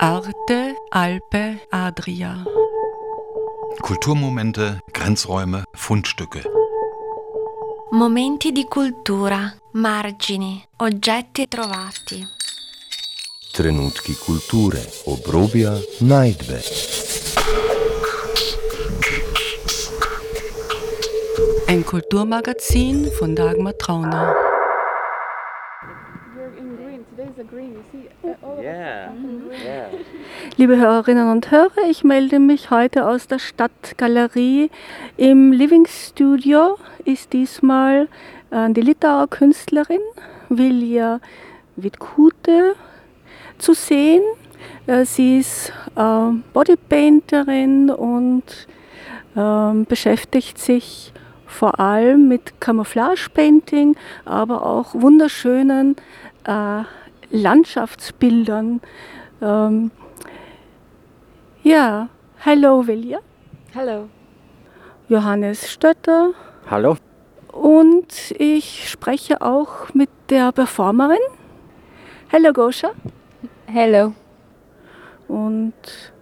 Arte, Alpe, Adria. Kulturmomente, Grenzräume, Fundstücke. Momenti di cultura, margini, oggetti trovati. Trenutki kulture, obrobja, najdbe. Ein Kulturmagazin von Dagmar Trauner. Liebe Hörerinnen und Hörer, ich melde mich heute aus der Stadtgalerie. Im Living Studio ist diesmal die Litauer Künstlerin Vilija Vitkute zu sehen. Sie ist Bodypainterin und beschäftigt sich vor allem mit Camouflage-Painting, aber auch wunderschönen Landschaftsbildern. Hallo Vilja. Hallo. Johannes Stötter. Hallo. Und ich spreche auch mit der Performerin. Hallo Goscha. Hello. Und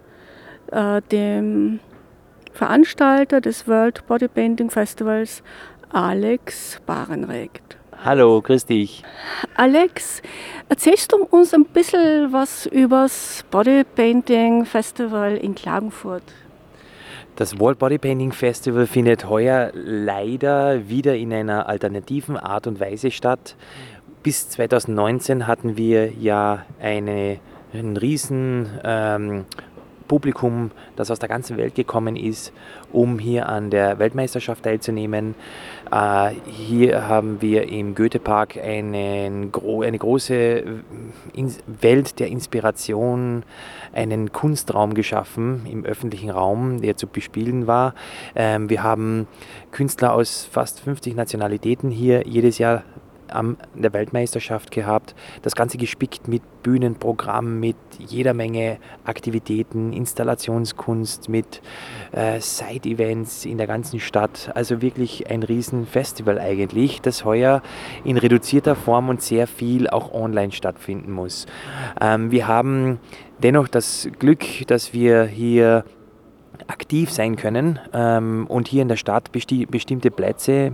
dem Veranstalter des World Bodypainting Festivals, Alex Barenregt. Hallo, grüß dich. Alex, erzählst du uns ein bisschen was über das Bodypainting Festival in Klagenfurt? Das World Bodypainting Festival findet heuer leider wieder in einer alternativen Art und Weise statt. Bis 2019 hatten wir ja ein riesen Publikum, das aus der ganzen Welt gekommen ist, um hier an der Weltmeisterschaft teilzunehmen. Hier haben wir im Goethepark eine große Welt der Inspiration, einen Kunstraum geschaffen im öffentlichen Raum, der zu bespielen war. Wir haben Künstler aus fast 50 Nationalitäten hier jedes Jahr an der Weltmeisterschaft gehabt. Das Ganze gespickt mit Bühnenprogramm, mit jeder Menge Aktivitäten, Installationskunst, mit Side-Events in der ganzen Stadt. Also wirklich ein Riesenfestival eigentlich, das heuer in reduzierter Form und sehr viel auch online stattfinden muss. Wir haben dennoch das Glück, dass wir hier aktiv sein können und hier in der Stadt bestimmte Plätze,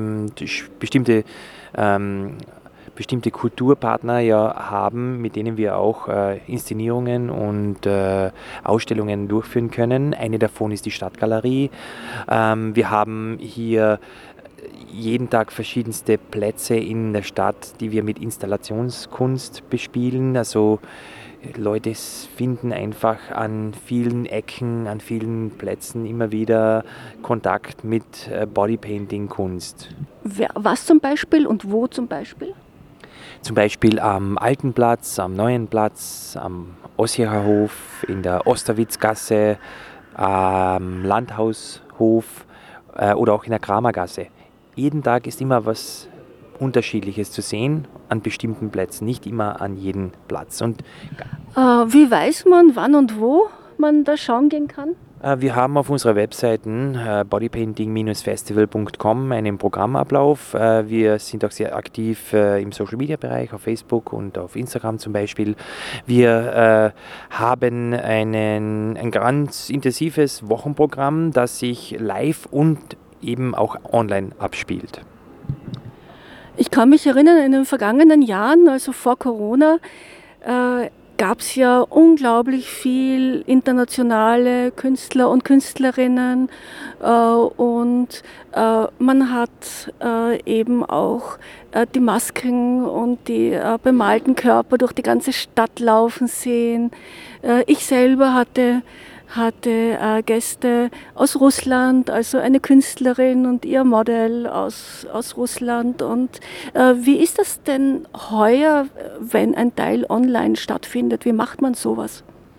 bestimmte Kulturpartner ja haben, mit denen wir auch Inszenierungen und Ausstellungen durchführen können. Eine davon ist die Stadtgalerie. Wir haben hier jeden Tag verschiedenste Plätze in der Stadt, die wir mit Installationskunst bespielen. Also Leute finden einfach an vielen Ecken, an vielen Plätzen immer wieder Kontakt mit Bodypainting-Kunst. Was zum Beispiel und wo zum Beispiel? Zum Beispiel am Alten Platz, am Neuen Platz, am Ossierer-Hof, in der Osterwitzgasse, am Landhaushof oder auch in der Kramergasse. Jeden Tag ist immer was Unterschiedliches zu sehen an bestimmten Plätzen, nicht immer an jedem Platz. Und wie weiß man, wann und wo man da schauen gehen kann? Wir haben auf unserer Webseite bodypainting-festival.com einen Programmablauf. Wir sind auch sehr aktiv im Social-Media-Bereich, auf Facebook und auf Instagram zum Beispiel. Wir haben ein ganz intensives Wochenprogramm, das sich live und eben auch online abspielt. Ich kann mich erinnern, in den vergangenen Jahren, also vor Corona, gab es ja unglaublich viel internationale Künstler und Künstlerinnen und man hat eben auch die Masken und die bemalten Körper durch die ganze Stadt laufen sehen. Ich selber hatte Gäste aus Russland, also eine Künstlerin und ihr Model aus Russland. Und wie ist das denn heuer, wenn ein Teil online stattfindet? Wie macht man sowas?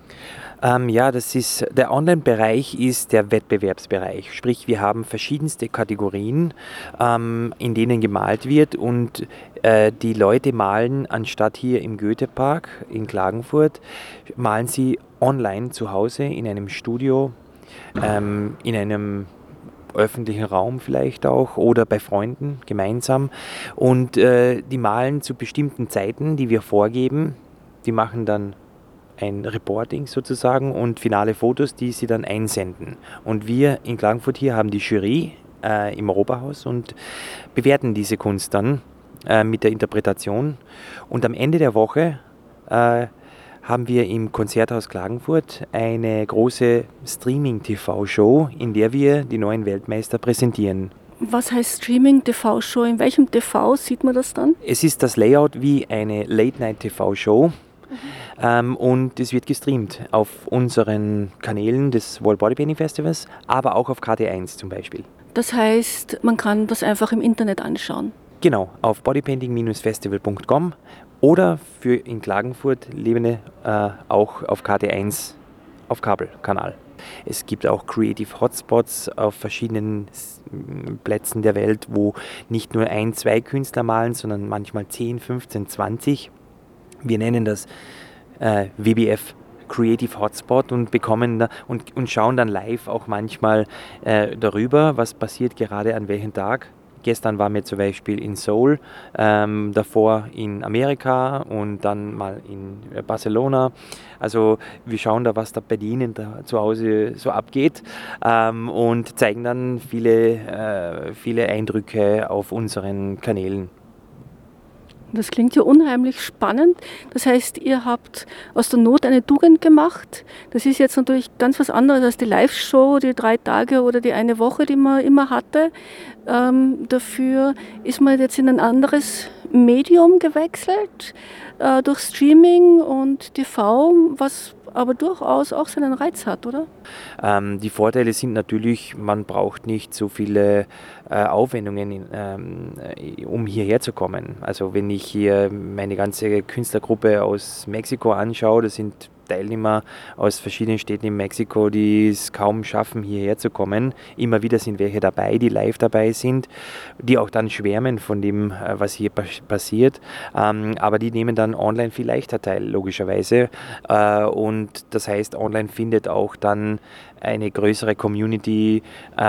Der Online-Bereich ist der Wettbewerbsbereich. Sprich, wir haben verschiedenste Kategorien, in denen gemalt wird und die Leute malen, anstatt hier im Goethepark in Klagenfurt, malen sie online zu Hause in einem Studio, in einem öffentlichen Raum vielleicht auch oder bei Freunden gemeinsam. Und die malen zu bestimmten Zeiten, die wir vorgeben. Die machen dann ein Reporting sozusagen und finale Fotos, die sie dann einsenden. Und wir in Klagenfurt hier haben die Jury im Europahaus und bewerten diese Kunst dann mit der Interpretation. Und am Ende der Woche haben wir im Konzerthaus Klagenfurt eine große Streaming-TV-Show, in der wir die neuen Weltmeister präsentieren. Was heißt Streaming-TV-Show? In welchem TV sieht man das dann? Es ist das Layout wie eine Late-Night-TV-Show. Und es wird gestreamt auf unseren Kanälen des World Bodypainting Festivals, aber auch auf KT1 zum Beispiel. Das heißt, man kann das einfach im Internet anschauen. Genau, auf bodypainting-festival.com oder für in Klagenfurt Lebende auch auf KT1 auf Kabelkanal. Es gibt auch Creative Hotspots auf verschiedenen Plätzen der Welt, wo nicht nur 1, 2 Künstler malen, sondern manchmal 10, 15, 20. Wir nennen das WBF Creative Hotspot und bekommen und schauen dann live auch manchmal darüber, was passiert gerade an welchem Tag. Gestern waren wir zum Beispiel in Seoul, davor in Amerika und dann mal in Barcelona. Also wir schauen da, was da bei Ihnen da zu Hause so abgeht und zeigen dann viele Eindrücke auf unseren Kanälen. Das klingt ja unheimlich spannend. Das heißt, ihr habt aus der Not eine Tugend gemacht. Das ist jetzt natürlich ganz was anderes als die Live-Show, die 3 Tage oder die eine Woche, die man immer hatte. Dafür ist man jetzt in ein anderes Medium gewechselt, durch Streaming und TV, was aber durchaus auch seinen Reiz hat, oder? Die Vorteile sind natürlich, man braucht nicht so viele Aufwendungen, um hierher zu kommen. Also wenn ich hier meine ganze Künstlergruppe aus Mexiko anschaue, das sind Teilnehmer aus verschiedenen Städten in Mexiko, die es kaum schaffen, hierher zu kommen. Immer wieder sind welche dabei, die live dabei sind, die auch dann schwärmen von dem, was hier passiert. Aber die nehmen dann online viel leichter teil, logischerweise. Und das heißt, online findet auch dann eine größere Community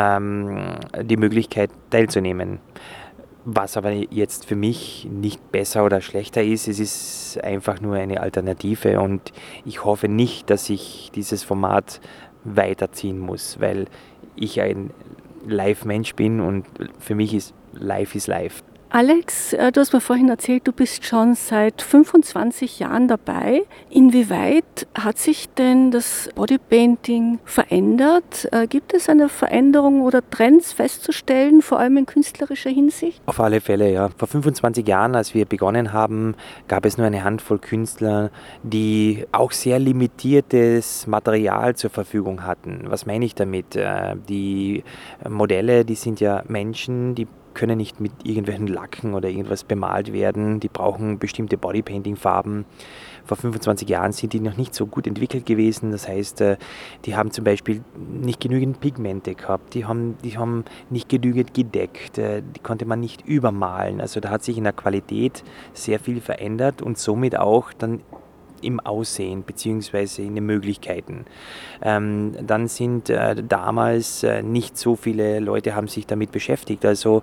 die Möglichkeit teilzunehmen. Was aber jetzt für mich nicht besser oder schlechter ist, es ist einfach nur eine Alternative und ich hoffe nicht, dass ich dieses Format weiterziehen muss, weil ich ein Live-Mensch bin und für mich ist Live. Alex, du hast mir vorhin erzählt, du bist schon seit 25 Jahren dabei. Inwieweit hat sich denn das Bodypainting verändert? Gibt es eine Veränderung oder Trends festzustellen, vor allem in künstlerischer Hinsicht? Auf alle Fälle, ja. Vor 25 Jahren, als wir begonnen haben, gab es nur eine Handvoll Künstler, die auch sehr limitiertes Material zur Verfügung hatten. Was meine ich damit? Die Modelle, die sind ja Menschen, die können nicht mit irgendwelchen Lacken oder irgendwas bemalt werden. Die brauchen bestimmte Bodypainting-Farben. Vor 25 Jahren sind die noch nicht so gut entwickelt gewesen. Das heißt, die haben zum Beispiel nicht genügend Pigmente gehabt. Die haben nicht genügend gedeckt. Die konnte man nicht übermalen. Also da hat sich in der Qualität sehr viel verändert und somit auch dann im Aussehen bzw. in den Möglichkeiten. Dann sind damals nicht so viele Leute haben sich damit beschäftigt. Also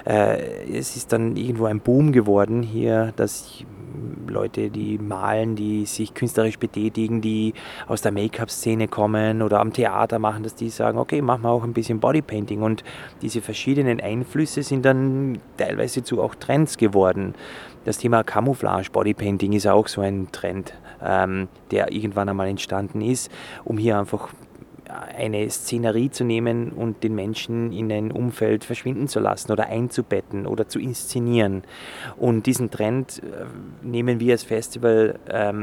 es ist dann irgendwo ein Boom geworden hier, dass Leute, die malen, die sich künstlerisch betätigen, die aus der Make-up-Szene kommen oder am Theater machen, dass die sagen, okay, machen wir auch ein bisschen Bodypainting. Und diese verschiedenen Einflüsse sind dann teilweise zu auch Trends geworden. Das Thema Camouflage Bodypainting ist auch so ein Trend, der irgendwann einmal entstanden ist, um hier einfach eine Szenerie zu nehmen und den Menschen in ein Umfeld verschwinden zu lassen oder einzubetten oder zu inszenieren. Und diesen Trend nehmen wir als Festival,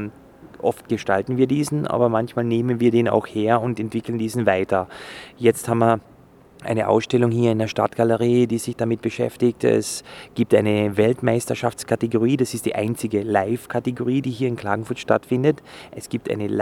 oft gestalten wir diesen, aber manchmal nehmen wir den auch her und entwickeln diesen weiter. Jetzt haben wir eine Ausstellung hier in der Stadtgalerie, die sich damit beschäftigt. Es gibt eine Weltmeisterschaftskategorie, das ist die einzige Live-Kategorie, die hier in Klagenfurt stattfindet. Es gibt eine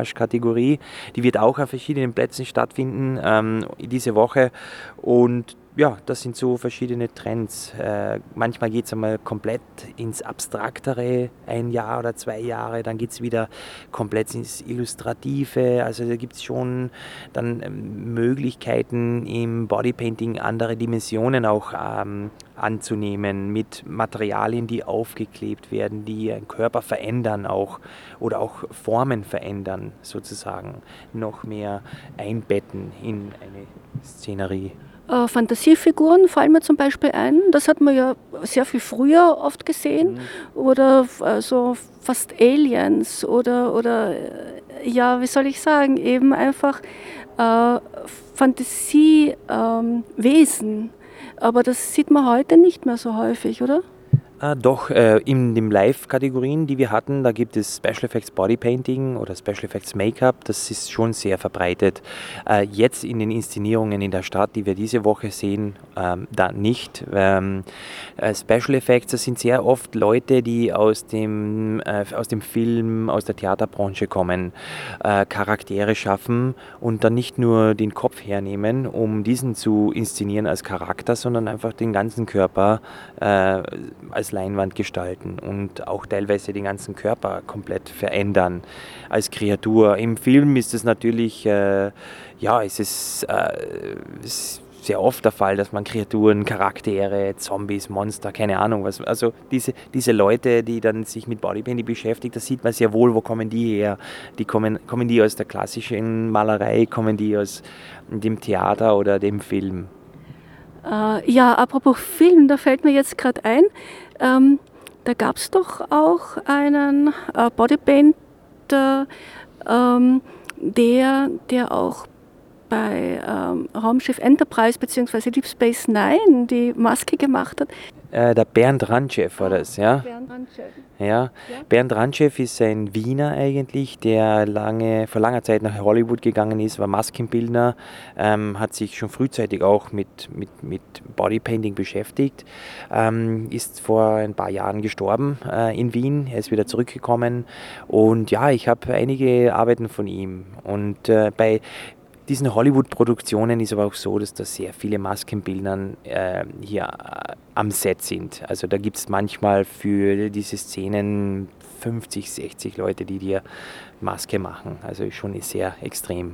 Live-Weltmeisterschafts-Camouflage-Kategorie, die wird auch an verschiedenen Plätzen stattfinden diese Woche und ja, das sind so verschiedene Trends. Manchmal geht es einmal komplett ins Abstraktere, 1 Jahr oder 2 Jahre, dann geht es wieder komplett ins Illustrative. Also da gibt es schon dann Möglichkeiten im Bodypainting andere Dimensionen auch anzunehmen, mit Materialien, die aufgeklebt werden, die einen Körper verändern auch oder auch Formen verändern, sozusagen, noch mehr einbetten in eine Szenerie. Fantasiefiguren fallen mir zum Beispiel ein. Das hat man ja sehr viel früher oft gesehen. Oder so fast Aliens oder ja, wie soll ich sagen, eben einfach Fantasiewesen. Aber das sieht man heute nicht mehr so häufig, oder? Doch, in den Live-Kategorien, die wir hatten, da gibt es Special Effects Bodypainting oder Special Effects Make-up, das ist schon sehr verbreitet. Jetzt in den Inszenierungen in der Stadt, die wir diese Woche sehen, da nicht. Special Effects, das sind sehr oft Leute, die aus dem Film, aus der Theaterbranche kommen, Charaktere schaffen und dann nicht nur den Kopf hernehmen, um diesen zu inszenieren als Charakter, sondern einfach den ganzen Körper als Leinwand gestalten und auch teilweise den ganzen Körper komplett verändern als Kreatur. Im Film ist es natürlich, es ist sehr oft der Fall, dass man Kreaturen, Charaktere, Zombies, Monster, keine Ahnung was, also diese Leute, die dann sich mit Bodypainting beschäftigen, da sieht man sehr wohl, wo kommen die her. Kommen die aus der klassischen Malerei, kommen die aus dem Theater oder dem Film? Ja, apropos Film, da fällt mir jetzt gerade ein, da gab es doch auch einen Bodypainter, der auch bei Raumschiff Enterprise bzw. Deep Space Nine die Maske gemacht hat. Der Bernd Rantschew war das, ja? Bernd Rantschew. Ja, Bernd Rantschew ist ein Wiener eigentlich, der vor langer Zeit nach Hollywood gegangen ist, war Maskenbildner, hat sich schon frühzeitig auch mit Bodypainting beschäftigt, ist vor ein paar Jahren gestorben in Wien, er ist wieder zurückgekommen und ja, ich habe einige Arbeiten von ihm und bei diesen Hollywood-Produktionen ist aber auch so, dass da sehr viele Maskenbildner hier am Set sind. Also da gibt es manchmal für diese Szenen 50, 60 Leute, die dir Maske machen. Also schon sehr extrem.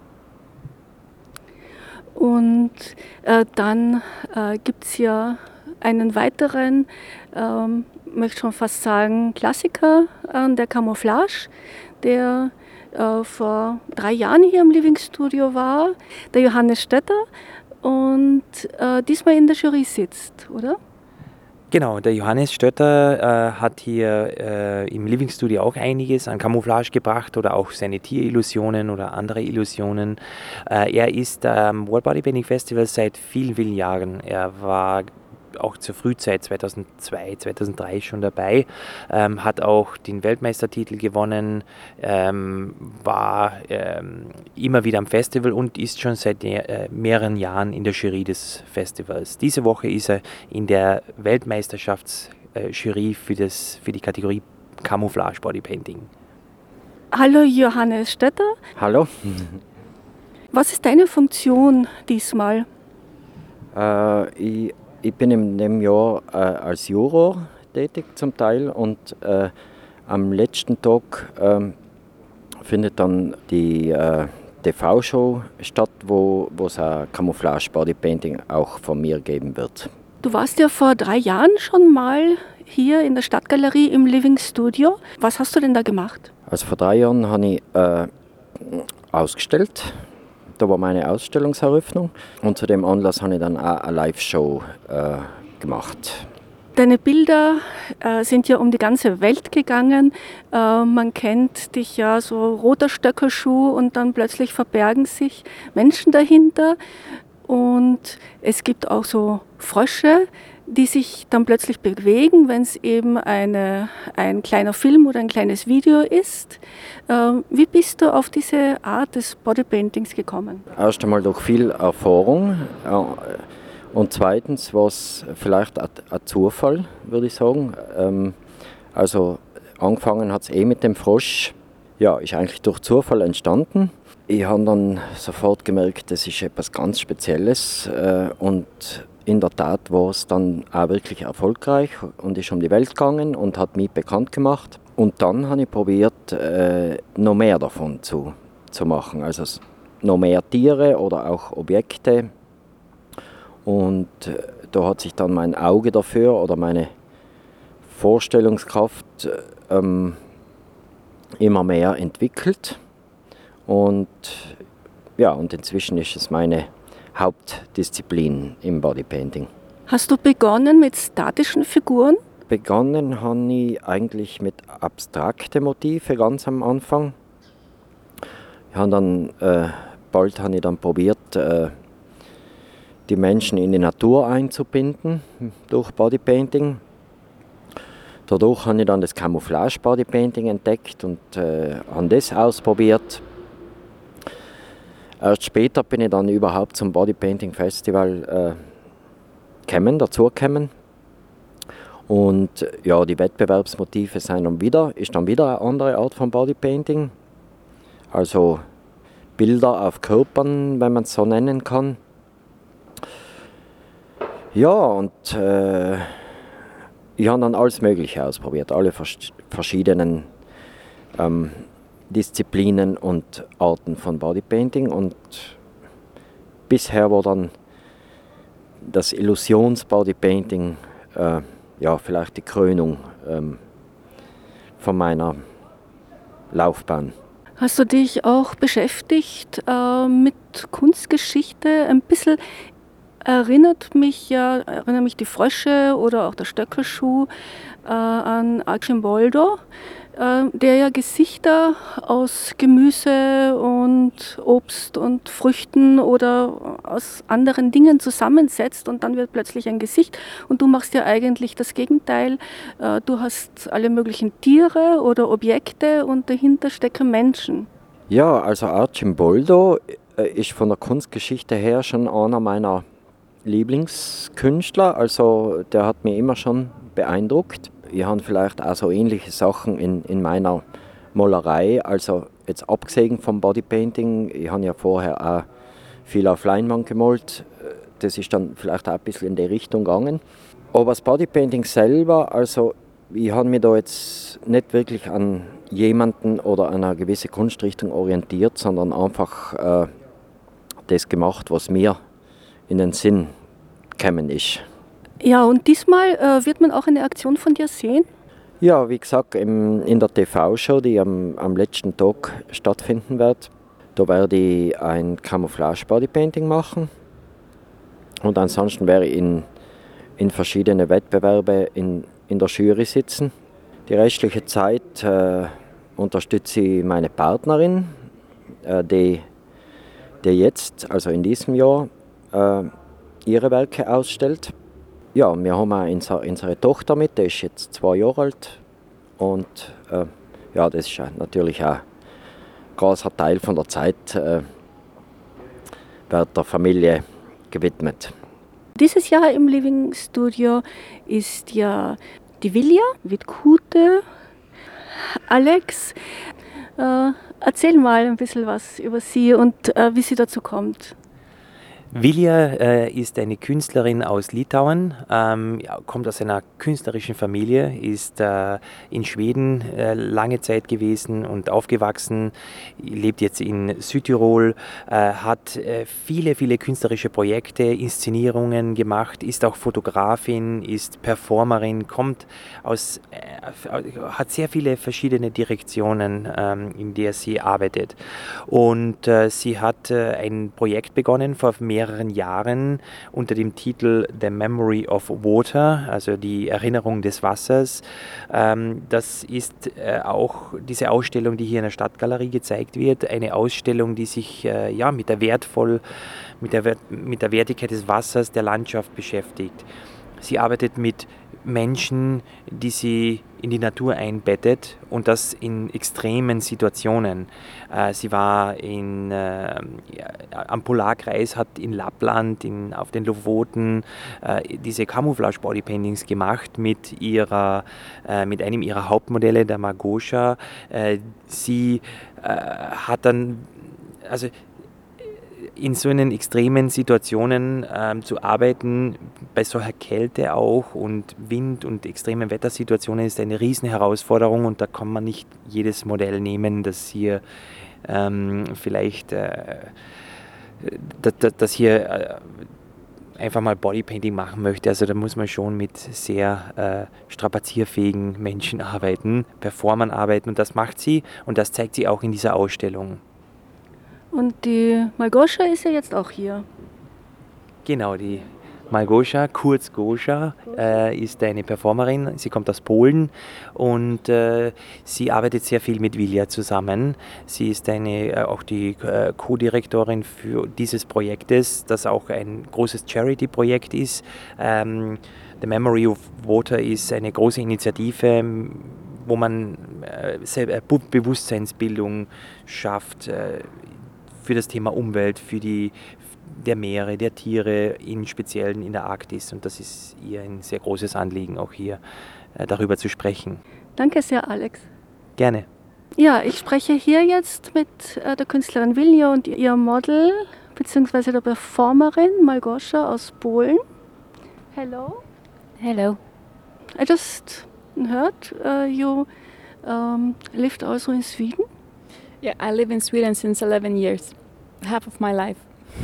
Und dann gibt es ja einen weiteren, möchte schon fast sagen, Klassiker der Camouflage, der vor 3 Jahren hier im Living Studio war, der Johannes Stötter und diesmal in der Jury sitzt, oder? Genau, der Johannes Stötter hat hier im Living Studio auch einiges an Camouflage gebracht oder auch seine Tierillusionen oder andere Illusionen. Er ist am World Bodypainting Festival seit vielen, vielen Jahren. Er war auch zur Frühzeit 2002, 2003 schon dabei, hat auch den Weltmeistertitel gewonnen, war immer wieder am Festival und ist schon seit mehreren Jahren in der Jury des Festivals. Diese Woche ist er in der Weltmeisterschaftsjury für die Kategorie Camouflage Bodypainting. Hallo Johannes Stötter. Hallo. Was ist deine Funktion diesmal? Ich bin in dem Jahr als Juror tätig zum Teil und am letzten Tag findet dann die TV-Show statt, wo es ein Camouflage-Bodypainting auch von mir geben wird. Du warst ja vor 3 Jahren schon mal hier in der Stadtgalerie im Living Studio. Was hast du denn da gemacht? Also vor 3 Jahren habe ich ausgestellt. Da war meine Ausstellungseröffnung und zu dem Anlass habe ich dann auch eine Live-Show gemacht. Deine Bilder sind ja um die ganze Welt gegangen. Man kennt dich ja so roter Stöckelschuh und dann plötzlich verbergen sich Menschen dahinter. Und es gibt auch so Frösche, die sich dann plötzlich bewegen, wenn es eben ein kleiner Film oder ein kleines Video ist. Wie bist du auf diese Art des Bodypaintings gekommen? Erst einmal durch viel Erfahrung und zweitens war es vielleicht ein Zufall, würde ich sagen. Also angefangen hat es mit dem Frosch, ja, ist eigentlich durch Zufall entstanden. Ich habe dann sofort gemerkt, das ist etwas ganz Spezielles und in der Tat war es dann auch wirklich erfolgreich und ist um die Welt gegangen und hat mich bekannt gemacht. Und dann habe ich probiert, noch mehr davon zu machen, also noch mehr Tiere oder auch Objekte. Und da hat sich dann mein Auge dafür oder meine Vorstellungskraft immer mehr entwickelt. Und inzwischen ist es meine Hauptdisziplin im Bodypainting. Hast du begonnen mit statischen Figuren? Begonnen habe ich eigentlich mit abstrakten Motiven ganz am Anfang. Bald habe ich dann probiert, die Menschen in die Natur einzubinden durch Bodypainting. Dadurch habe ich dann das Camouflage Bodypainting entdeckt und habe das ausprobiert. Erst später bin ich dann überhaupt zum Bodypainting Festival dazugekommen. Und ja, die Wettbewerbsmotive ist dann wieder eine andere Art von Bodypainting. Also Bilder auf Körpern, wenn man es so nennen kann. Ja, und ich habe dann alles Mögliche ausprobiert, alle verschiedenen Disziplinen und Arten von Bodypainting. Und bisher war dann das Illusions-Bodypainting vielleicht die Krönung von meiner Laufbahn. Hast du dich auch beschäftigt mit Kunstgeschichte? Ein bisschen erinnert mich die Frösche oder auch der Stöckelschuh an Arcimboldo, der ja Gesichter aus Gemüse und Obst und Früchten oder aus anderen Dingen zusammensetzt und dann wird plötzlich ein Gesicht. Und du machst ja eigentlich das Gegenteil. Du hast alle möglichen Tiere oder Objekte und dahinter stecken Menschen. Ja, also Arcimboldo ist von der Kunstgeschichte her schon einer meiner Lieblingskünstler, also der hat mich immer schon beeindruckt. Ich habe vielleicht auch so ähnliche Sachen in meiner Malerei, also jetzt abgesehen vom Bodypainting, ich habe ja vorher auch viel auf Leinwand gemalt, das ist dann vielleicht auch ein bisschen in die Richtung gegangen. Aber das Bodypainting selber, also ich habe mich da jetzt nicht wirklich an jemanden oder an eine gewisse Kunstrichtung orientiert, sondern einfach das gemacht, was mir in den Sinn gekommen ist. Ja, und diesmal wird man auch eine Aktion von dir sehen? Ja, wie gesagt, in der TV-Show, die am letzten Tag stattfinden wird, da werde ich ein Camouflage-Bodypainting machen. Und ansonsten werde ich in verschiedene Wettbewerbe in der Jury sitzen. Die restliche Zeit unterstütze ich meine Partnerin, die jetzt, also in diesem Jahr, ihre Werke ausstellt. Ja, wir haben auch unsere Tochter mit, die ist jetzt 2 Jahre alt. Und das ist natürlich auch ein großer Teil von der Zeit wird der Familie gewidmet. Dieses Jahr im Living Studio ist ja die Vilja Witkute. Alex, erzähl mal ein bisschen was über sie und wie sie dazu kommt. Vilja ist eine Künstlerin aus Litauen, kommt aus einer künstlerischen Familie, ist in Schweden lange Zeit gewesen und aufgewachsen, lebt jetzt in Südtirol, hat viele künstlerische Projekte, Inszenierungen gemacht, ist auch Fotografin, ist Performerin, hat sehr viele verschiedene Direktionen, in der sie arbeitet. Und sie hat ein Projekt begonnen vor mehreren Jahren unter dem Titel The Memory of Water, also die Erinnerung des Wassers. Das ist auch diese Ausstellung, die hier in der Stadtgalerie gezeigt wird, eine Ausstellung, die sich mit der Wertigkeit des Wassers, der Landschaft beschäftigt. Sie arbeitet mit Menschen, die sie in die Natur einbettet und das in extremen Situationen. Sie war am Polarkreis, hat in Lappland, auf den Lofoten diese Camouflage-Bodypaintings gemacht mit einem ihrer Hauptmodelle, der Margosha. Sie hat dann also in so einen extremen Situationen zu arbeiten, bei solcher Kälte auch und Wind und extremen Wettersituationen ist eine riesen Herausforderung und da kann man nicht jedes Modell nehmen, das hier das hier einfach mal Bodypainting machen möchte. Also da muss man schon mit sehr strapazierfähigen Menschen arbeiten, Performern arbeiten und das macht sie und das zeigt sie auch in dieser Ausstellung. Und die Malgosia ist ja jetzt auch hier. Genau, die Malgosia, kurz Gosia, ist eine Performerin. Sie kommt aus Polen und sie arbeitet sehr viel mit Vilja zusammen. Sie ist auch die Co-Direktorin für dieses Projektes, das auch ein großes Charity-Projekt ist. The Memory of Water ist eine große Initiative, wo man Bewusstseinsbildung schafft für das Thema Umwelt, der Meere, der Tiere, im Speziellen in der Arktis. Und das ist ihr ein sehr großes Anliegen, auch hier darüber zu sprechen. Danke sehr, Alex. Gerne. Ja, ich spreche hier jetzt mit der Künstlerin Vilja und ihrem Model, beziehungsweise der Performerin Malgosia aus Polen. Hello. Hello. I just heard you lived also in Sweden. Yeah, I live in Sweden since 11 years, half of my life.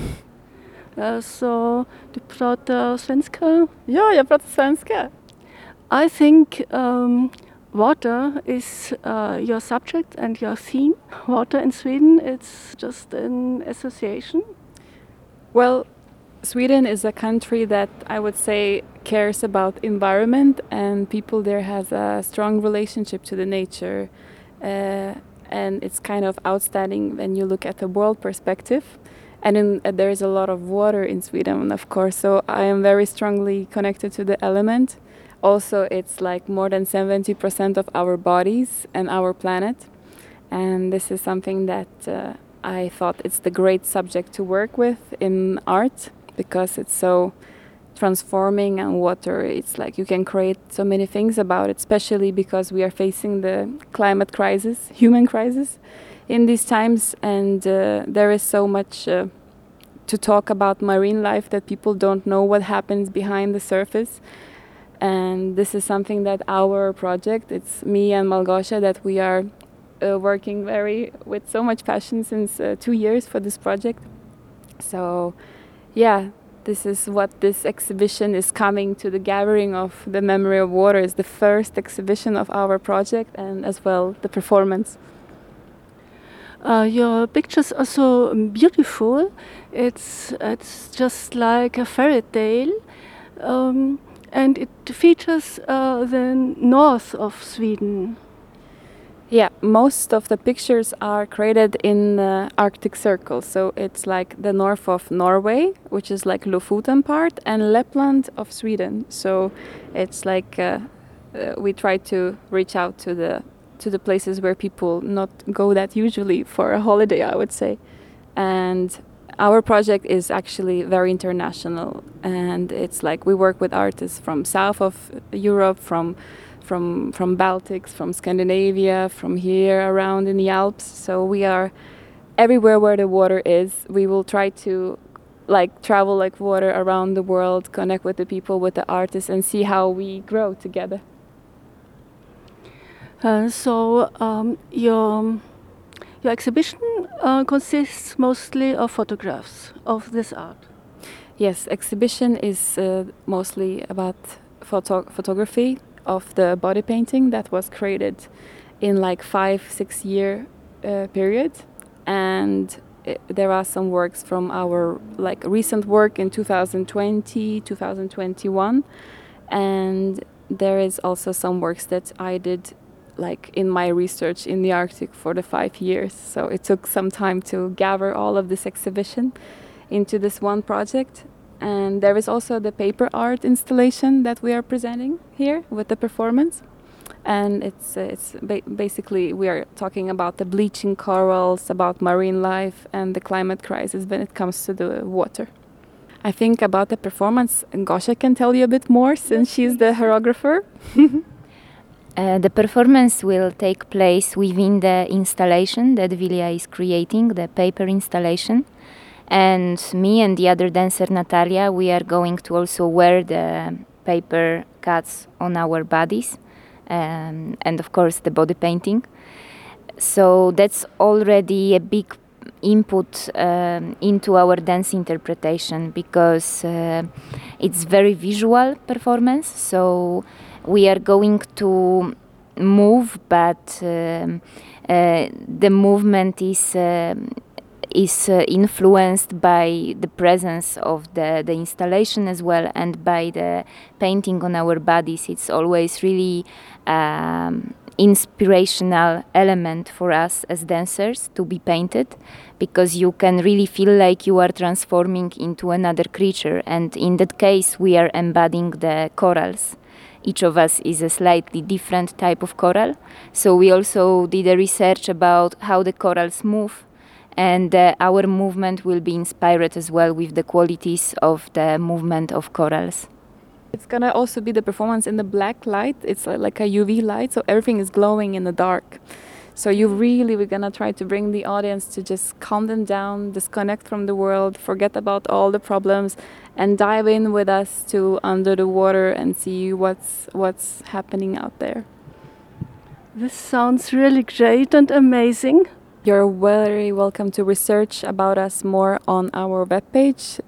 So, du pratar svenska? Ja, jag pratar svenska. I think water is your subject and your theme. Water in Sweden, it's just an association. Well, Sweden is a country that I would say cares about environment, and people there has a strong relationship to the nature. And it's kind of outstanding when you look at the world perspective. And there is a lot of water in Sweden, of course, so I am very strongly connected to the element. Also, it's like more than 70% of our bodies and our planet. And this is something that I thought it's the great subject to work with in art, because it's so transforming, and water, it's like you can create so many things about it, especially because we are facing the climate crisis, human crisis in these times, and there is so much to talk about marine life that people don't know what happens behind the surface. And this is something that our project, it's me and Malgosia, that we are working with so much passion since 2 years for this project. So yeah, this is what this exhibition is coming to. The Gathering of the Memory of Water is the first exhibition of our project, and as well the performance. Your pictures are so beautiful. It's just like a fairy tale, and it features the north of Sweden. Yeah, most of the pictures are created in the Arctic Circle. So it's like the north of Norway, which is like Lofoten part, and Lapland of Sweden. So it's like we try to reach out to the places where people not go that usually for a holiday, I would say. And our project is actually very international, and it's like we work with artists from south of Europe, from Baltics, from Scandinavia, from here around in the Alps. So we are everywhere where the water is. We will try to travel like water around the world, connect with the people, with the artists, and see how we grow together. Your exhibition consists mostly of photographs of this art. Yes, exhibition is mostly about photography of the body painting that was created in like 5-6 year period, and there are some works from our like recent work in 2020, 2021, and there is also some works that I did like in my research in the Arctic for the 5 years. So it took some time to gather all of this exhibition into this one project. And there is also the paper art installation that we are presenting here with the performance. And it's basically we are talking about the bleaching corals, about marine life, and the climate crisis when it comes to the water. I think about the performance, Gosia can tell you a bit more since she's the choreographer. The performance will take place within the installation that Vilja is creating, the paper installation. And me and the other dancer, Natalia, we are going to also wear the paper cuts on our bodies, and of course the body painting. So that's already a big input into our dance interpretation, because it's very visual performance. So we are going to move, but the movement is influenced by the presence of the installation as well, and by the painting on our bodies. It's always really inspirational element for us as dancers to be painted, because you can really feel like you are transforming into another creature, and in that case we are embodying the corals. Each of us is a slightly different type of coral, so we also did a research about how the corals move, and our movement will be inspired as well with the qualities of the movement of corals. It's gonna also be the performance in the black light. It's like a UV light, so everything is glowing in the dark. So we're gonna try to bring the audience to just calm them down, disconnect from the world, forget about all the problems, and dive in with us to under the water and see what's happening out there. This sounds really great and amazing. You're very welcome to research about us more on our webpage,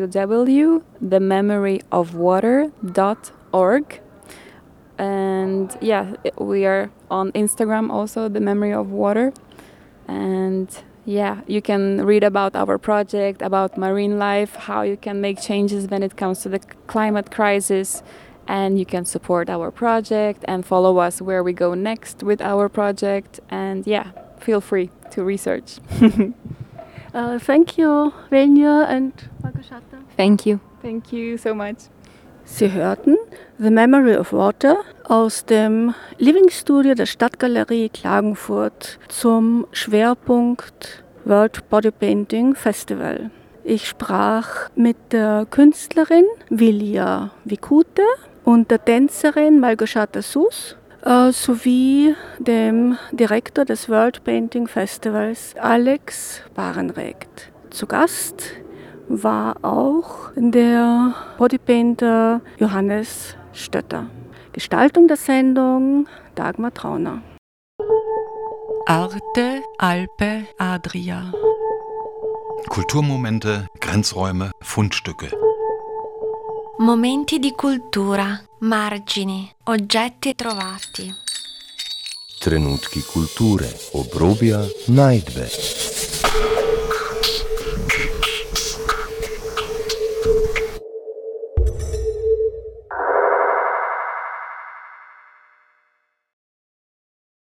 www.thememoryofwater.org. And we are on Instagram also, The Memory of Water. And you can read about our project, about marine life, how you can make changes when it comes to the climate crisis. And you can support our project and follow us where we go next with our project. And feel free to research. Thank you, Vilja and Margoszata. Thank you. Thank you so much. Sie hörten The Memory of Water aus dem Living Studio der Stadtgalerie Klagenfurt zum Schwerpunkt World Body Painting Festival. Ich sprach mit der Künstlerin Vilja Vikute und der Tänzerin Malgoszata Sus sowie dem Direktor des World Painting Festivals Alex Barenregt. Zu Gast war auch der Bodypainter Johannes Stötter. Gestaltung der Sendung Dagmar Trauner. Arte, Alpe, Adria. Kulturmomente, Grenzräume, Fundstücke. Momenti di cultura, margini, oggetti trovati. Trenutki kulture, obrobja, najdbe.